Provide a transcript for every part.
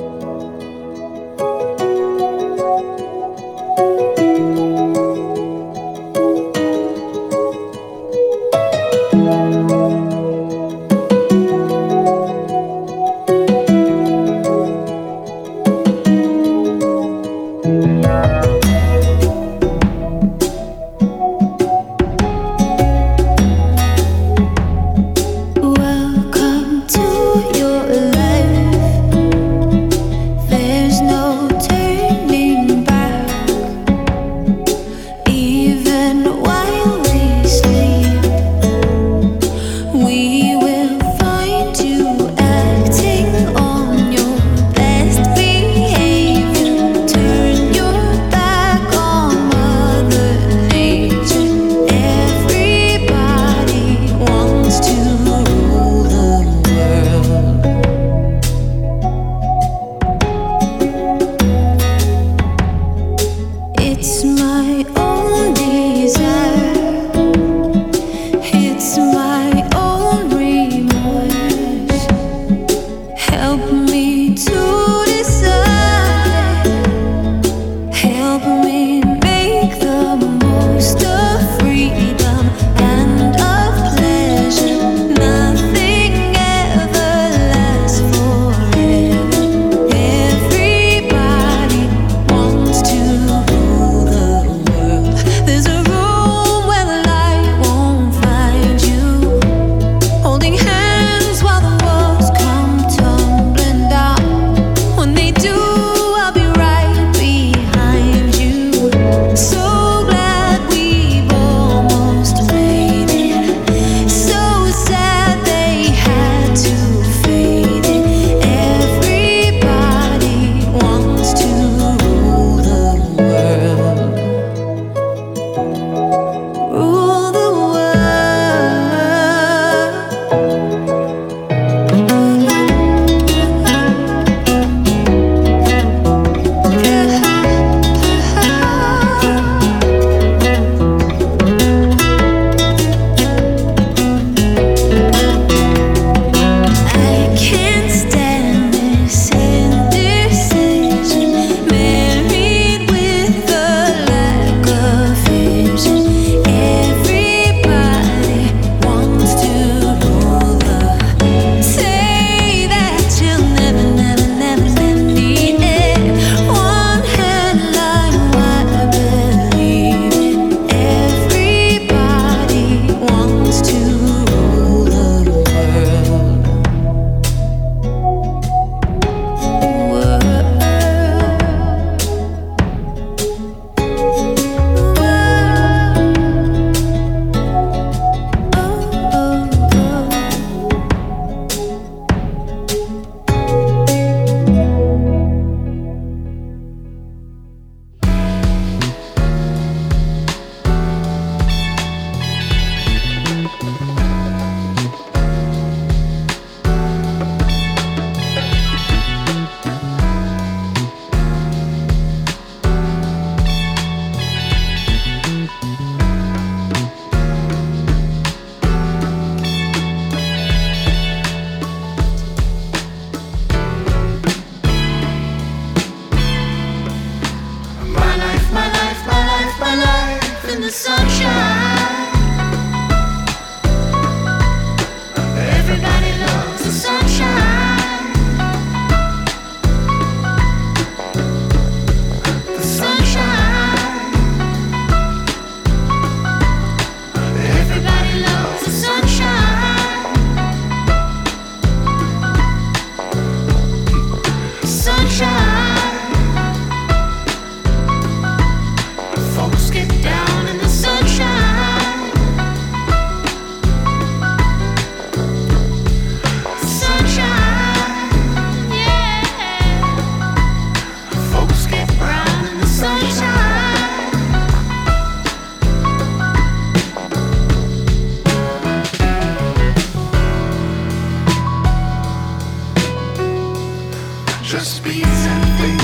Just beats and things.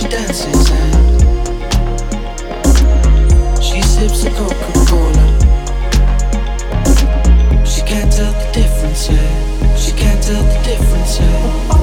she dances and she sips a Coca-Cola. She can't tell the difference, yeah. She can't tell the difference, yeah.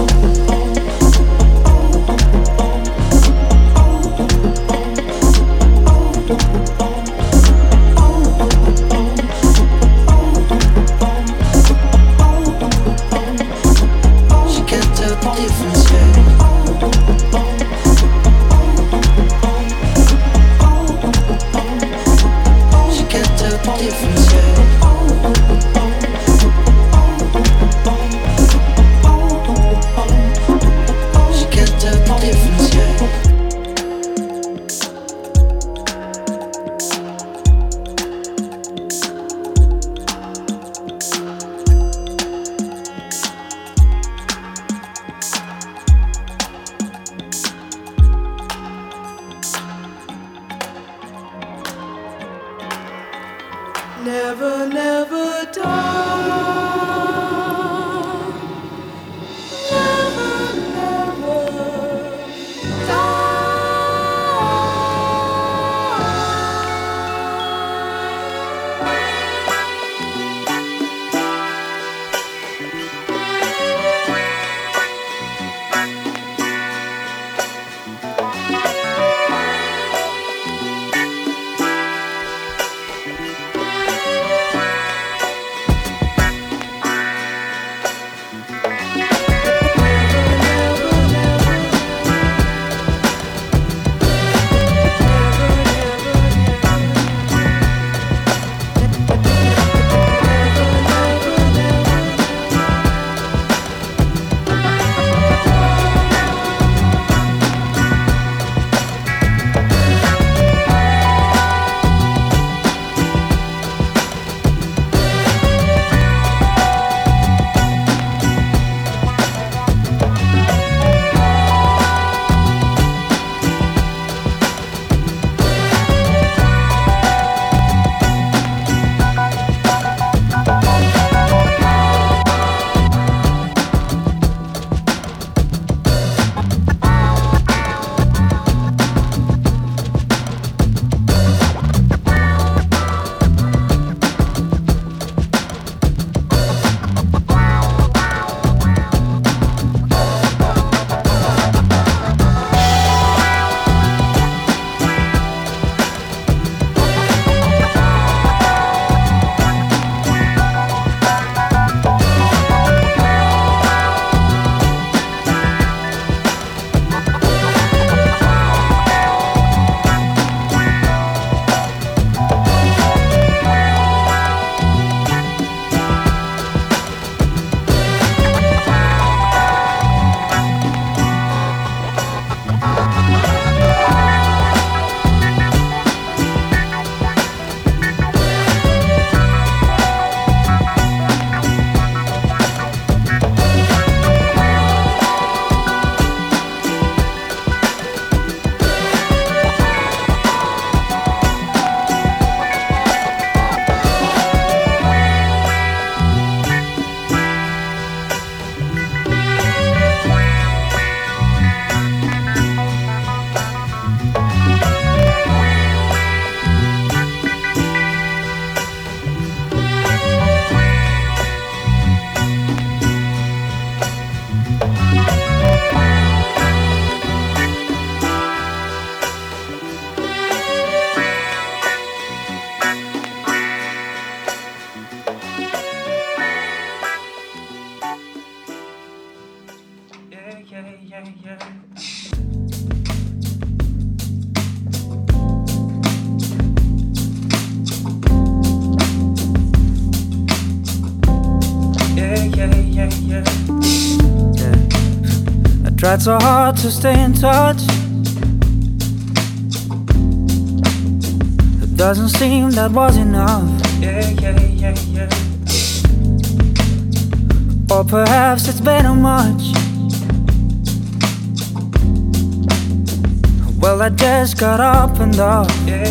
Never, never die. Never, never die. Tried so hard to stay in touch. It doesn't seem that was enough. Or perhaps it's better much. Well, I just got up and off.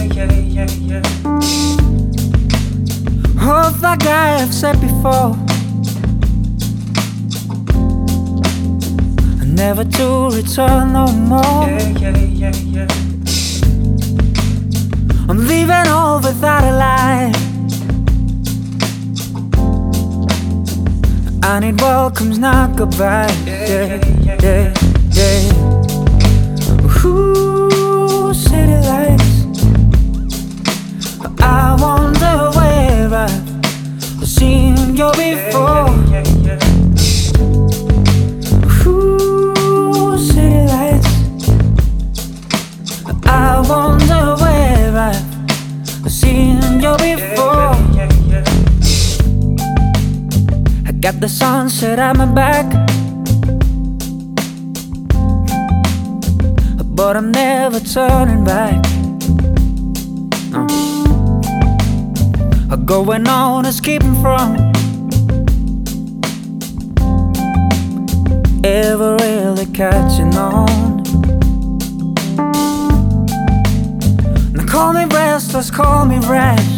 Oh, like I have said before, never to return no more. I'm leaving all without a lie. I need welcomes, not goodbye. Ooh, city lights. I wonder where I've seen you before. Ooh, city lights. I wonder where I've seen you before. I got the sunset at my back, but I'm never turning back. Going on is keeping from ever really catching on. Now call me restless, call me rash,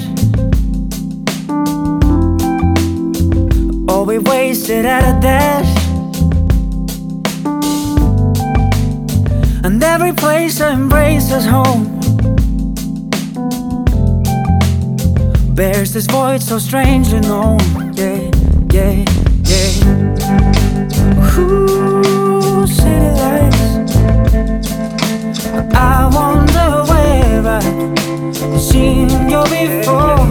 or we wasted at a dash. And every place I embrace is home bears this void so strangely known. Ooh, city lights. I wonder where I've seen you before.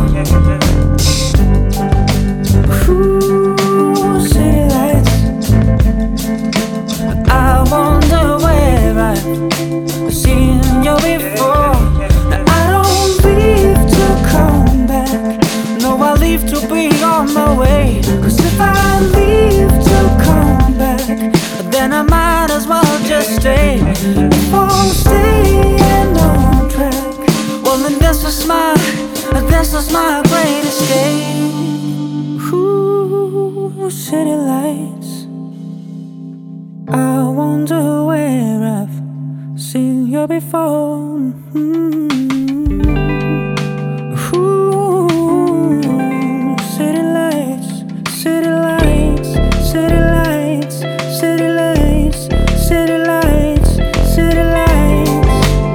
Ooh, city lights. I wonder where I've seen you before. I don't leave to come back, no, I leave to be on my way. Cause if I leave to come back, then I might as well just stay. If I'm staying on track, well then this is my great escape. Ooh, city lights. I wonder where I've seen you before. City lights, city lights, city lights, city lights, city lights, city lights.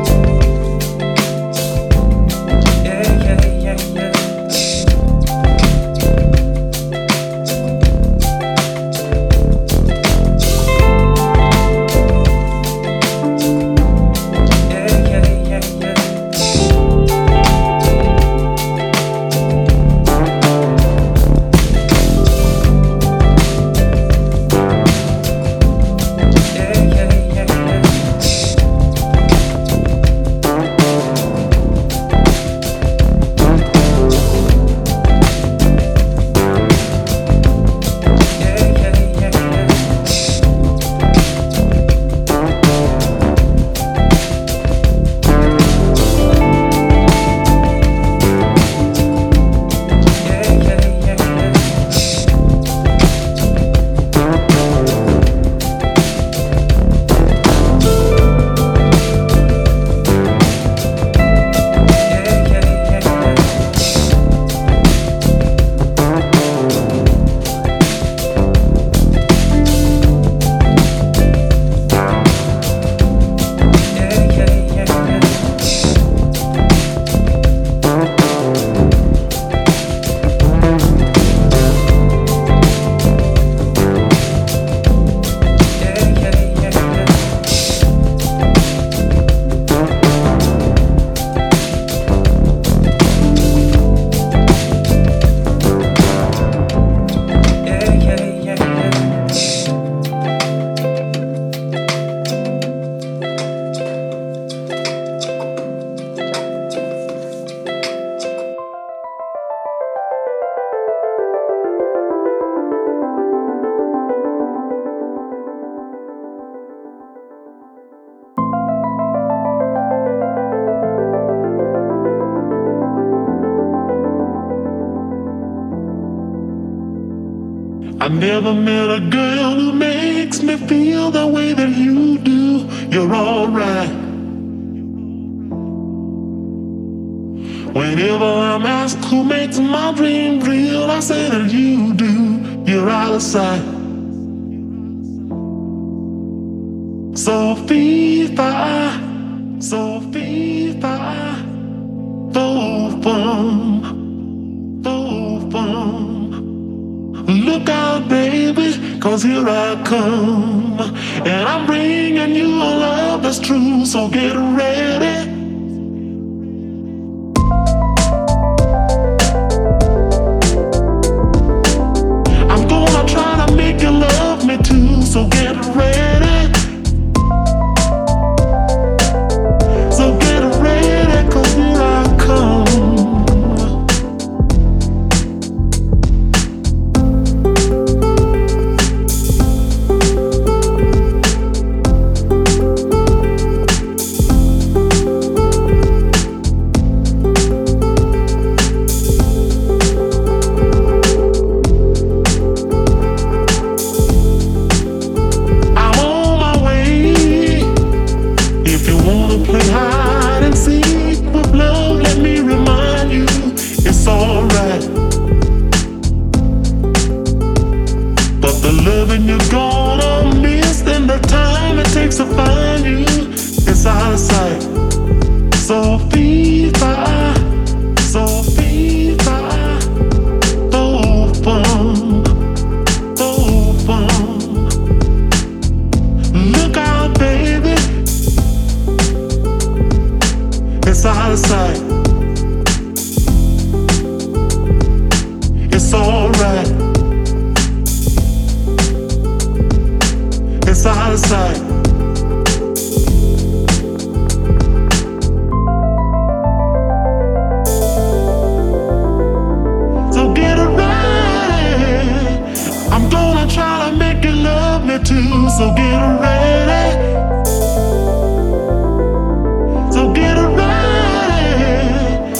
I never met a girl who makes me feel the way that you do. You're alright. Whenever I'm asked who makes my dream real, I say that you do. You're out of sight. So viva, so viva, boom, boom. Look out, baby, 'cause here I come. And I'm bringing you a love that's true, so get ready. I'm gonna try to make you love me too, so get ready. So get ready, 'cause here I come. To find you, it's out of sight. So viva, so viva, boom, boom, boom. Look out, baby, it's out of sight. It's alright. It's out of sight. Too, so get ready. So get ready.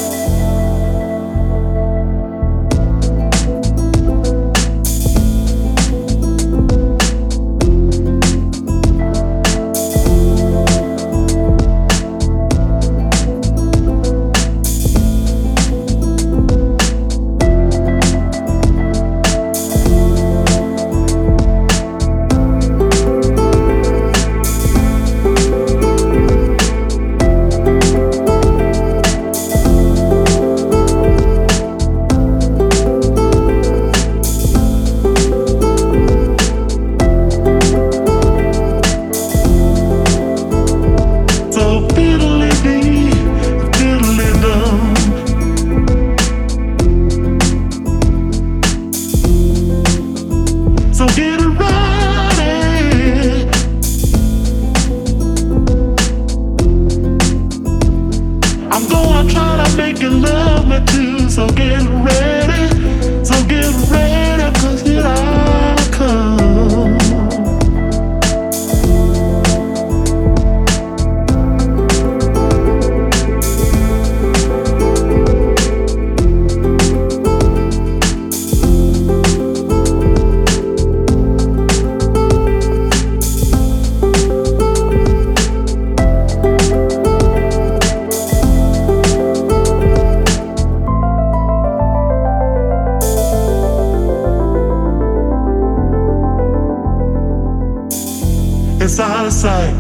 It's out of sight.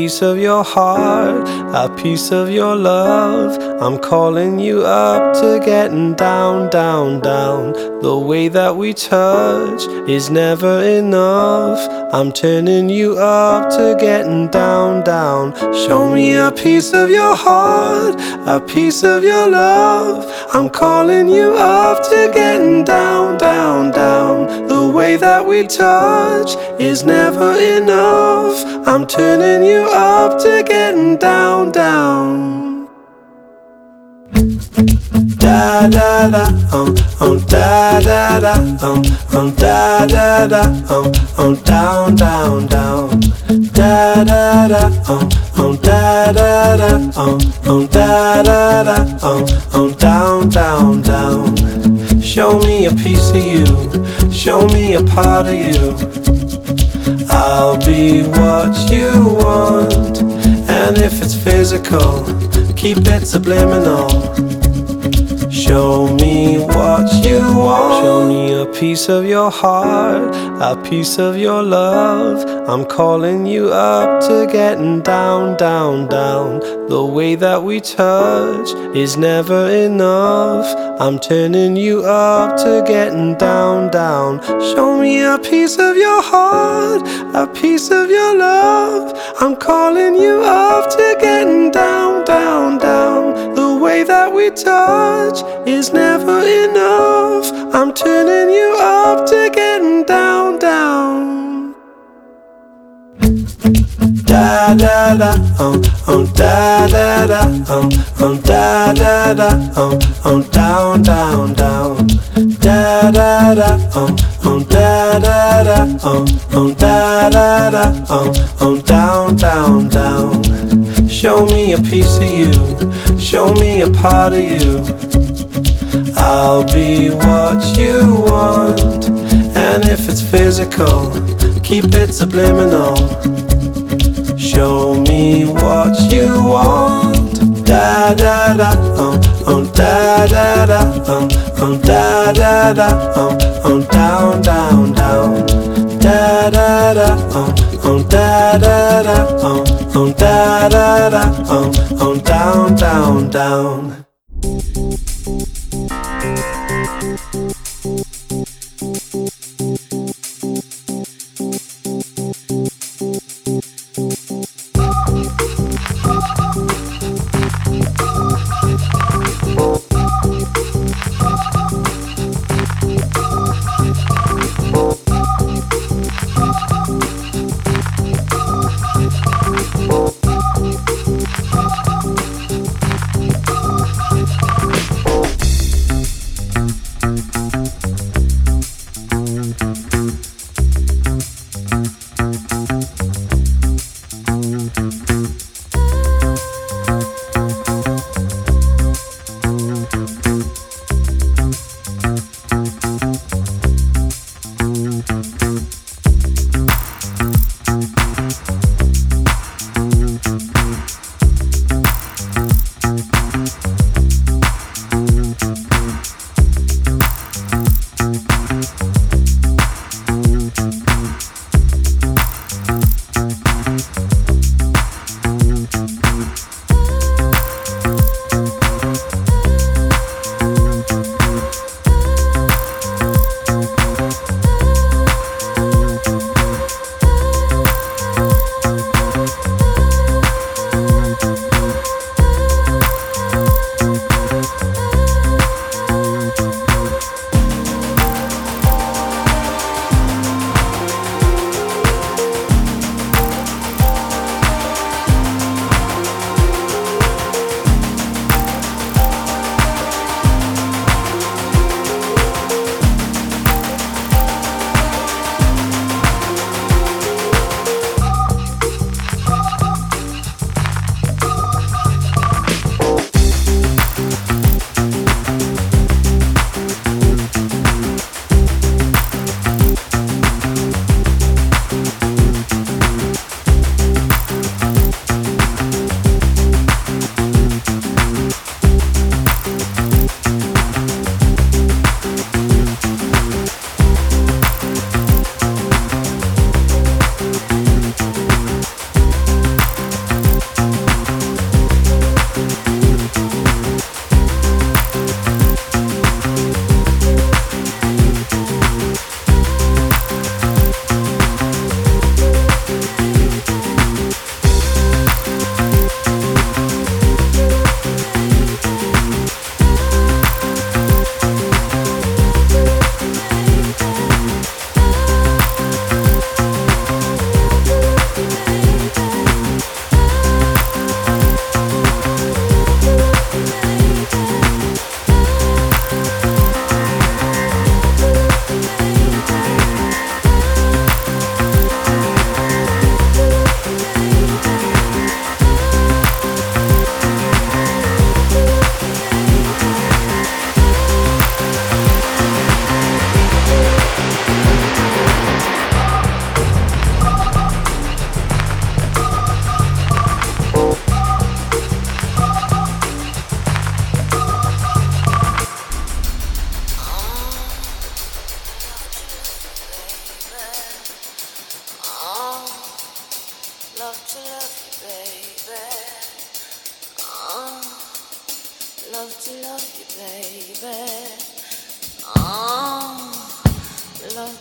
piece of your heart, a piece of your love. I'm calling you up to getting down, down, down. The way that we touch is never enough. I'm turning you up to getting down, down. Show me a piece of your heart, a piece of your love. I'm calling you up to getting down, down, down. The way that we touch is never enough. I'm turning you up to getting down, down. Da da da, da da da, da da da, down, down, down. Da da da, da da da, da da da, down, down, down. Show me a piece of you, show me a part of you. I'll be what you want, and if it's physical, keep it subliminal. Show me what you want. Show me a piece of your heart, a piece of your love. I'm calling you up to getting down, down, down. The way that we touch is never enough. I'm turning you up to getting down, down. Show me a piece of your heart, a piece of your love. I'm calling you up to getting down, down, down. The way that we touch is never enough. I'm turning you up to getting down, down. Da da da, da da da, da da da, down, down, down. Da da da, da da da, da da da, down, down, down. Show me a piece of you, show me a part of you. I'll be what you want, and if it's physical, keep it subliminal. Show me what you want. Da da da, da da da, da da da, down, down, down. Da da da, da da da, da da da, down, down, down.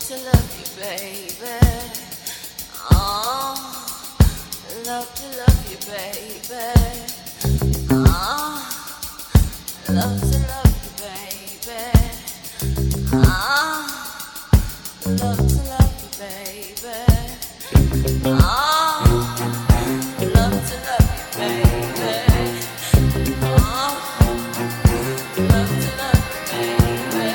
to love you, baby. Oh, love to love you, baby. Oh, love to love you, baby. Oh, love to love you, baby. Oh, love to love you, baby. Oh, love to love you, baby.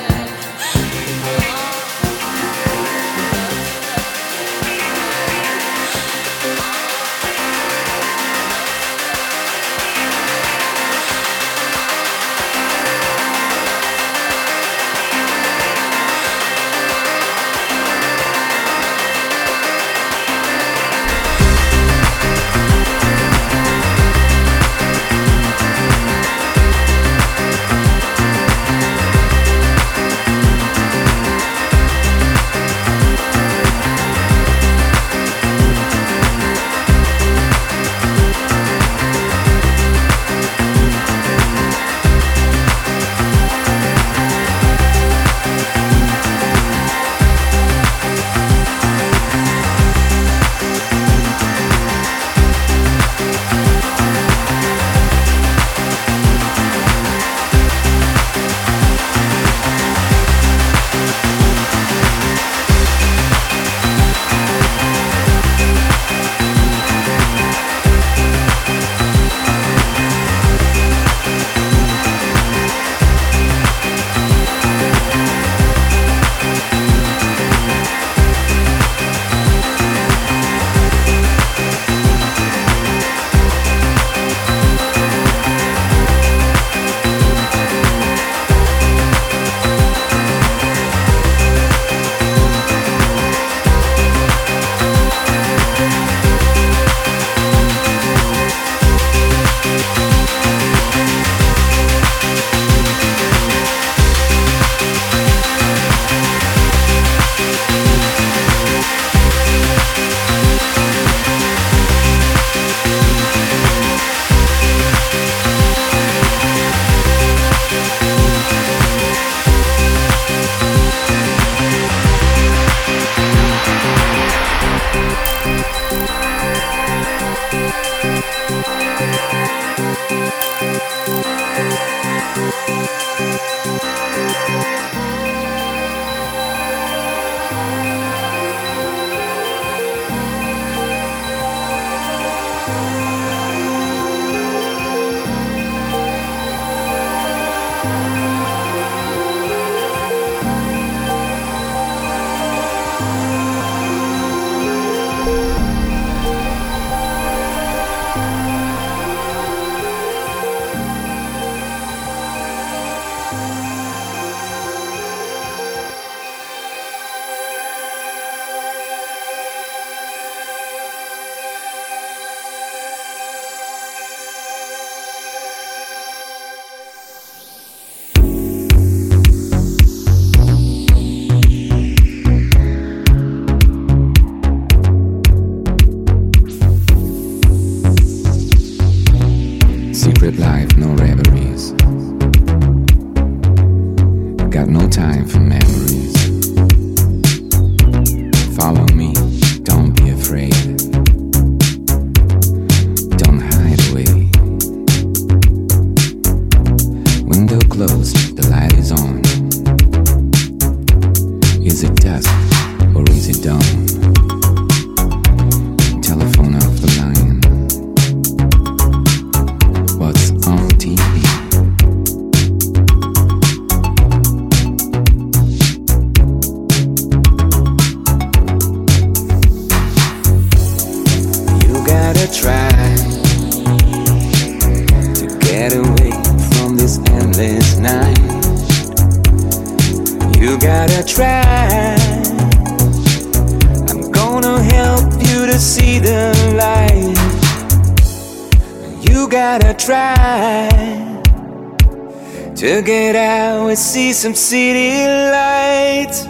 Secret life, no reveries. Got no time for memories. Follow me, don't be afraid. Don't hide away. Window closed, the light is on. Is it dusk or is it dawn? Telephone off the line. What's on TV? You gotta try to get away from this endless night. You gotta try. I'm gonna help you to see the light. You gotta try to get out and see some city lights.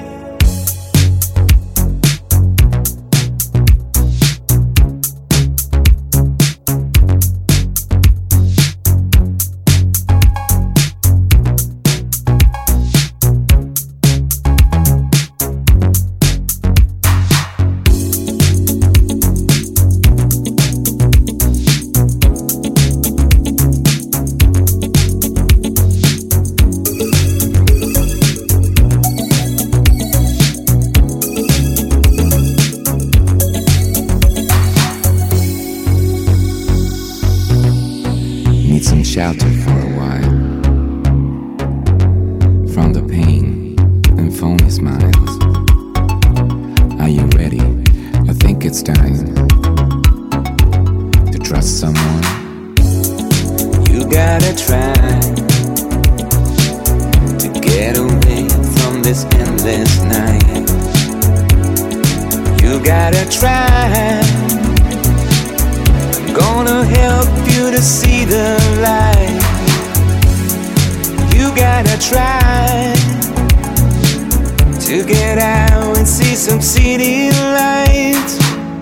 shelter for a while from the pain and phony smiles. Are you ready? I think it's time to trust someone. You gotta try to get away from this endless night. You gotta try. I'm gonna help you to see the light. You gotta try to get out and see some city lights.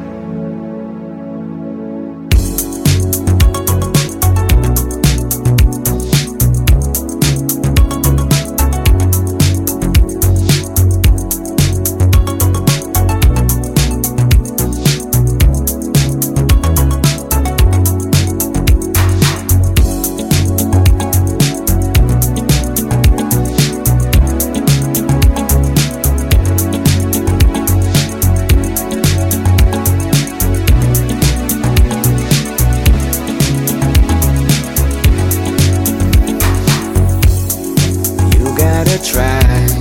Try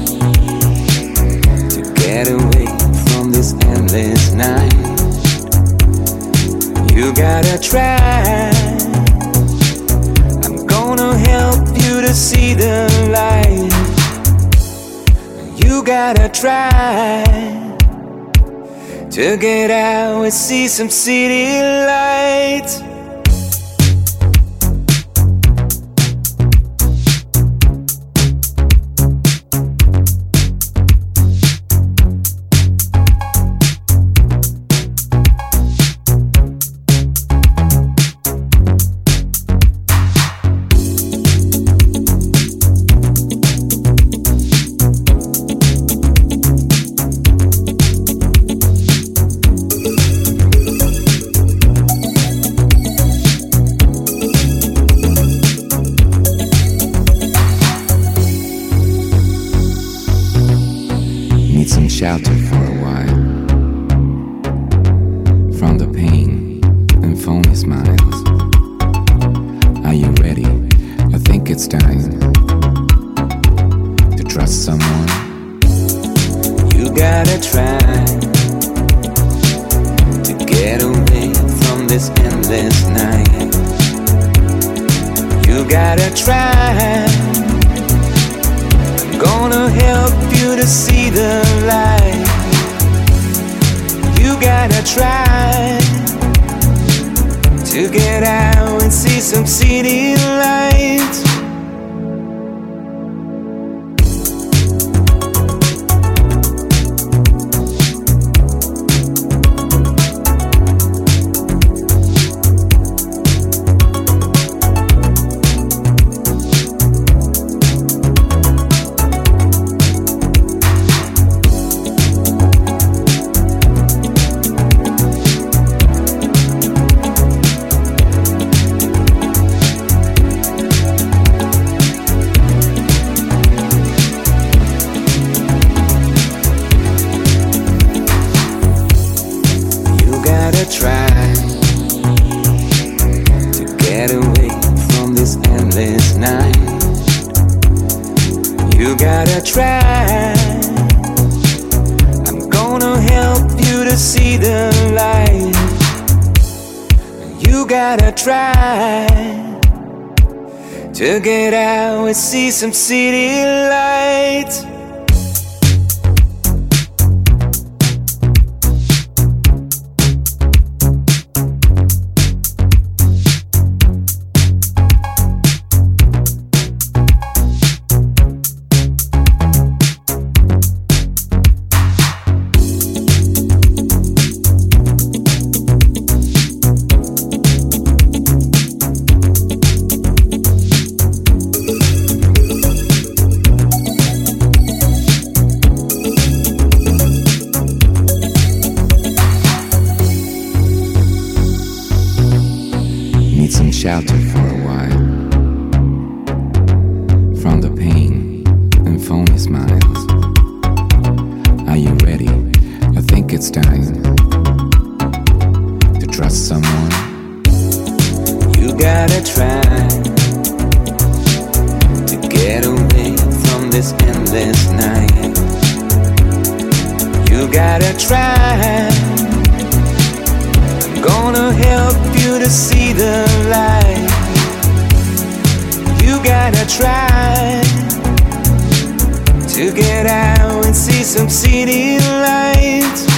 to get away from this endless night. You gotta try. I'm gonna help you to see the light. You gotta try to get out and see some city lights. Shelter for a while from the pain and phony smiles. Are you ready? I think it's time to trust someone. You gotta try to get away from this endless night. You gotta try. I'm gonna help you to see the light. You gotta try to get out and see some city lights. Try to get away from this endless night. You gotta try. I'm gonna help you to see the light. You gotta try to get out and see some city lights. Shelter for a while from the pain and phony smiles. Are you ready? I think it's time to trust someone. You gotta try to get away from this endless night. You gotta try. I'm gonna help you to see the light. You gotta try to get out and see some city lights.